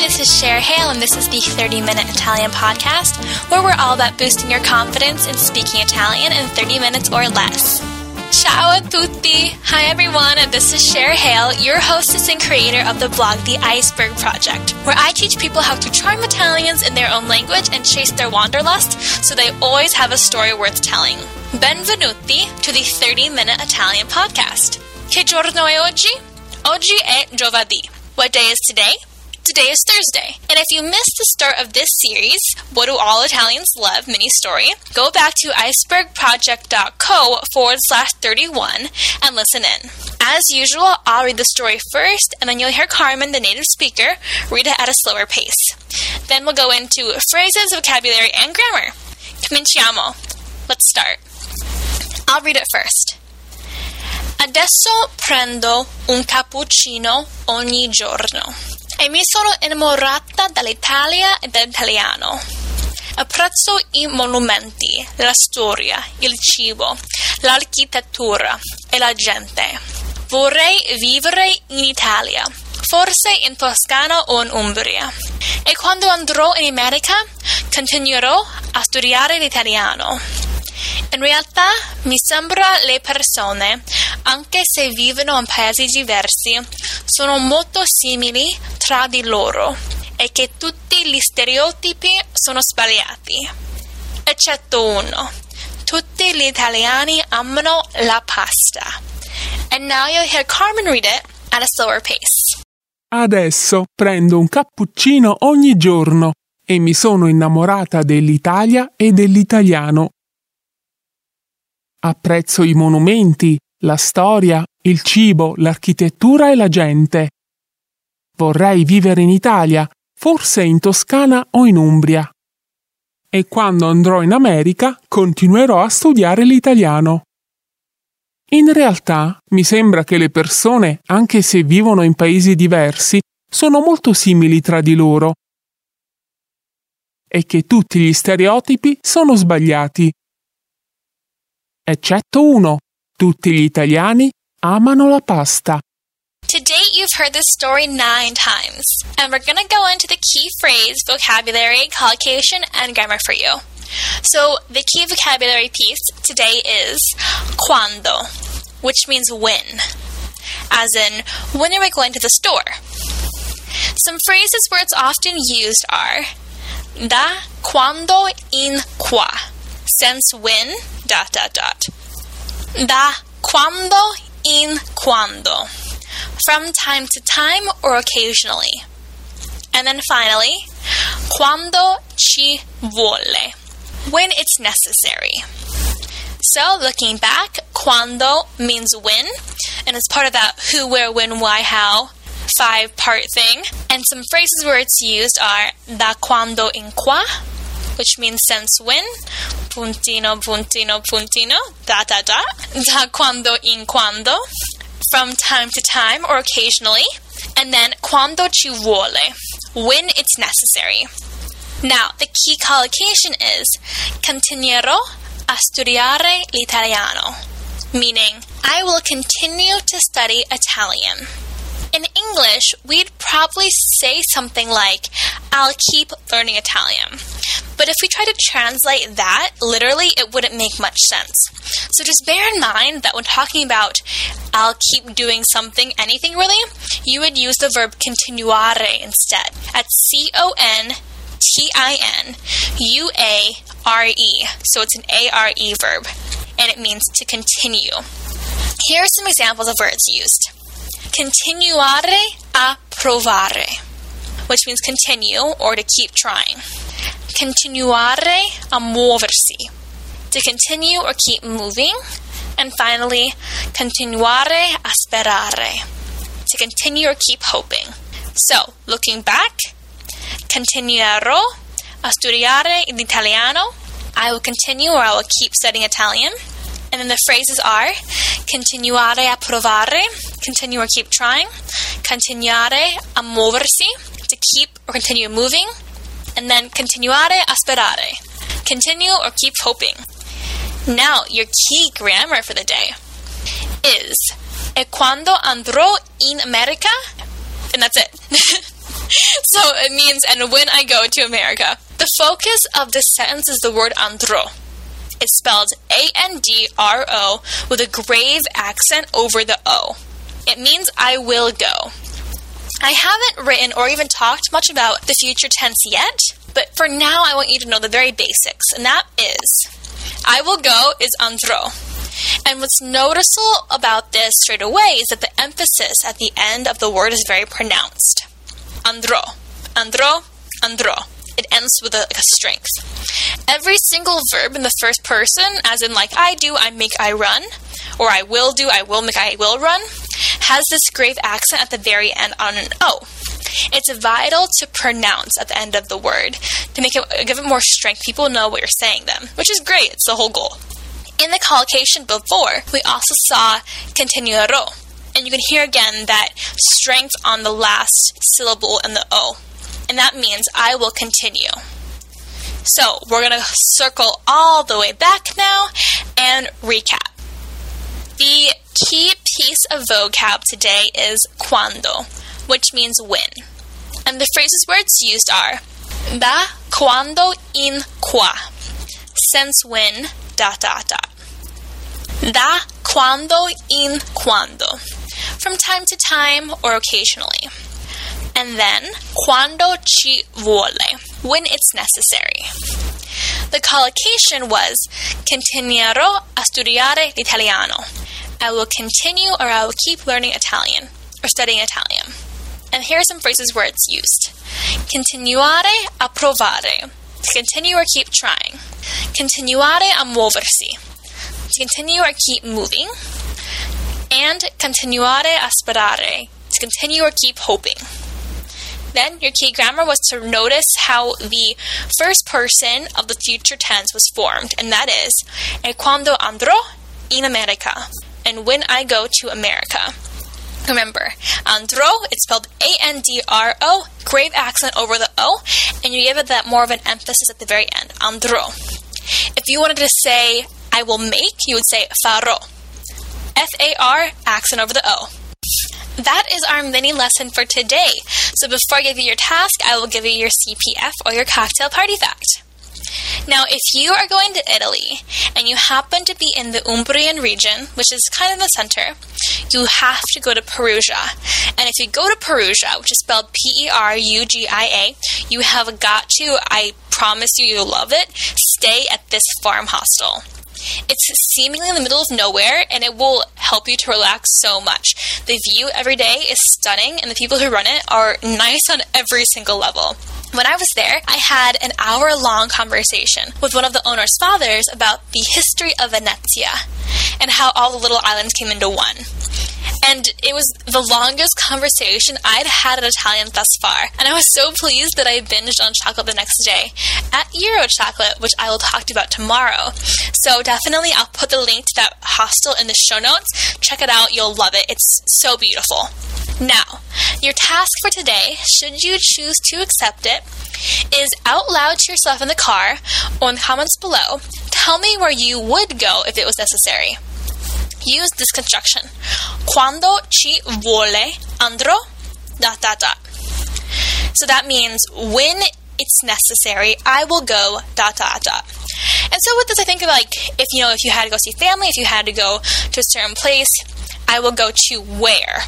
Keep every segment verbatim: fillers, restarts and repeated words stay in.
this is Cher Hale, and this is the thirty minute Italian podcast, where we're all about boosting your confidence in speaking Italian in thirty minutes or less. Ciao a tutti! Hi everyone, this is Cher Hale, your hostess and creator of the blog The Iceberg Project, where I teach people how to charm Italians in their own language and chase their wanderlust so they always have a story worth telling. Benvenuti to the thirty minute Italian podcast. Che giorno è oggi? Oggi è giovedì. What day is today? Today is Thursday. And if you missed the start of this series, What Do All Italians Love mini story, go back to icebergproject.co forward slash 31 and listen in. As usual, I'll read the story first, and then you'll hear Carmen, the native speaker, read it at a slower pace. Then we'll go into phrases, vocabulary, and grammar. Cominciamo. Let's start. I'll read it first. Adesso prendo un cappuccino ogni giorno e mi sono innamorata dall'Italia e dell'italiano. Apprezzo i monumenti, la storia, il cibo, l'architettura e la gente. Vorrei vivere in Italia, forse in Toscana o in Umbria. E quando andrò in America, continuerò a studiare l'italiano. In realtà mi sembra le persone, anche se vivono in paesi diversi, sono molto simili tra di loro e che tutti gli stereotipi sono sbagliati. Eccetto uno. Tutti gli italiani amano la pasta. And now you'll hear Carmen read it at a slower pace. Adesso prendo un cappuccino ogni giorno e mi sono innamorata dell'Italia e dell'italiano. Apprezzo i monumenti, la storia, il cibo, l'architettura e la gente. Vorrei vivere in Italia, forse in Toscana o in Umbria. E quando andrò in America, continuerò a studiare l'italiano. In realtà, mi sembra che le persone, anche se vivono in paesi diversi, sono molto simili tra di loro. E che tutti gli stereotipi sono sbagliati. Eccetto uno. Tutti gli italiani amano la pasta. To date, you've heard this story nine times, and we're going to go into the key phrase, vocabulary, collocation, and grammar for you. So, the key vocabulary piece today is quando, which means when, as in, when are we going to the store? Some phrases where it's often used are da quando in qua, since when, dot, dot, dot. Da quando in quando, from time to time or occasionally. And then finally, quando ci vuole, when it's necessary. So, looking back, quando means when, and it's part of that who, where, when, why, how five-part thing. And some phrases where it's used are da quando in qua, which means since when, puntino, puntino, puntino, da, da, da, da quando in quando, from time to time or occasionally, and then quando ci vuole, when it's necessary. Now, the key collocation is continuerò a studiare l'italiano, meaning I will continue to study Italian. In English, we'd probably say something like, I'll keep learning Italian. But if we try to translate that, literally, it wouldn't make much sense. So just bear in mind that when talking about I'll keep doing something, anything really, you would use the verb continuare instead. At C O N T I N U A R E. So it's an A R E verb, and it means to continue. Here are some examples of where it's used. Continuare a provare, which means continue or to keep trying. Continuare a muoversi, to continue or keep moving. And finally, continuare a sperare, to continue or keep hoping. So, looking back, continuerò a studiare l'italiano, I will continue or I will keep studying Italian. And then the phrases are continuare a provare, continue or keep trying, continuare a muoversi, to keep or continue moving, and then continuare a sperare, continue or keep hoping. Now, your key grammar for the day is e quando andrò in America, and that's it. So it means, and when I go to America. The focus of this sentence is the word andro. It's spelled A N D R O with a grave accent over the O. It means I will go. I haven't written or even talked much about the future tense yet, but for now I want you to know the very basics, and that is, I will go is andro. And what's noticeable about this straight away is that the emphasis at the end of the word is very pronounced. Andro, andro, andro. It ends with a, like a strength. Every single verb in the first person, as in like I do, I make, I run, or I will do, I will make, I will run, has this grave accent at the very end on an O. It's vital to pronounce at the end of the word to make it, give it more strength. People know what you're saying them, which is great. It's the whole goal. In the collocation before, we also saw continuerò, and you can hear again that strength on the last syllable in the O, and that means I will continue. So we're going to circle all the way back now and recap. The key piece of vocab today is quando, which means when. And the phrases where it's used are da quando in qua, since when, dot dot dot. Da quando in quando, from time to time or occasionally. And then quando ci vuole, when it's necessary. The collocation was continuerò a studiare l'italiano. I will continue or I will keep learning Italian or studying Italian. And here are some phrases where it's used. Continuare a provare. To continue or keep trying. Continuare a muoversi. To continue or keep moving. And continuare a sperare. To continue or keep hoping. Then your key grammar was to notice how the first person of the future tense was formed, and that is e quando andrò in America, and when I go to America. Remember, andrò, it's spelled A N D R O, grave accent over the O, and you give it that more of an emphasis at the very end, andrò. If you wanted to say I will make, you would say farò. F A R, accent over the O. That is our mini lesson for today. So before I give you your task, I will give you your C P F or your cocktail party fact. Now, if you are going to Italy and you happen to be in the Umbrian region, which is kind of the center, you have to go to Perugia. And if you go to Perugia, which is spelled P E R U G I A, you have got to, I promise you, you'll love it, stay at this farm hostel. It's seemingly in the middle of nowhere, and it will help you to relax so much. The view every day is stunning, and the people who run it are nice on every single level. When I was there, I had an hour-long conversation with one of the owner's fathers about the history of Venezia and how all the little islands came into one. And it was the longest conversation I'd had in Italian thus far. And I was so pleased that I binged on chocolate the next day at Euro Chocolate, which I will talk to you about tomorrow. So definitely I'll put the link to that hostel in the show notes. Check it out. You'll love it. It's so beautiful. Now, your task for today, should you choose to accept it, is out loud to yourself in the car or in the comments below, tell me where you would go if it was necessary. Use this construction. Quando ci vuole andrò, dot, dot, dot. So that means when it's necessary, I will go, dot, dot, dot. And so with this, I think of like, if you know, if you had to go see family, if you had to go to a certain place, I will go to where.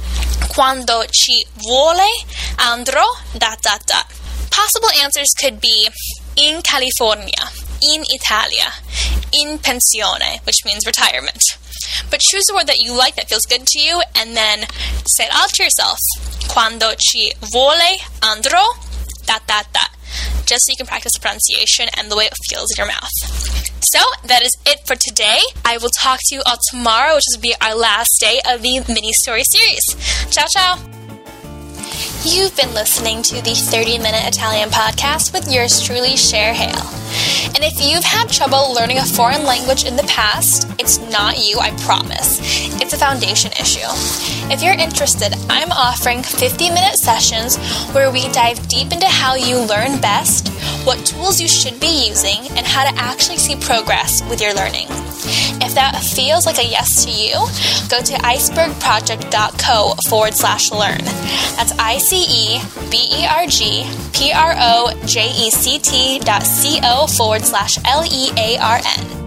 Quando ci vuole andrò, dot, dot, dot. Possible answers could be in California, in Italia, in pensione, which means retirement. But choose a word that you like, that feels good to you, and then say it out to yourself. Quando ci vuole andrò, dot, dot, dot. Just so you can practice the pronunciation and the way it feels in your mouth. So, that is it for today. I will talk to you all tomorrow, which will be our last day of the mini-story series. Ciao, ciao! You've been listening to the thirty-minute Italian podcast with yours truly, Cher Hale. And if you've had trouble learning a foreign language in the past, it's not you, I promise. It's a foundation issue. If you're interested, I'm offering fifty-minute sessions where we dive deep into how you learn best, what tools you should be using, and how to actually see progress with your learning. If if that feels like a yes to you, go to icebergproject.co forward slash learn. That's I-C-E-B-E-R-G P-R-O-J-E-C-T dot C-O forward slash L-E-A-R-N.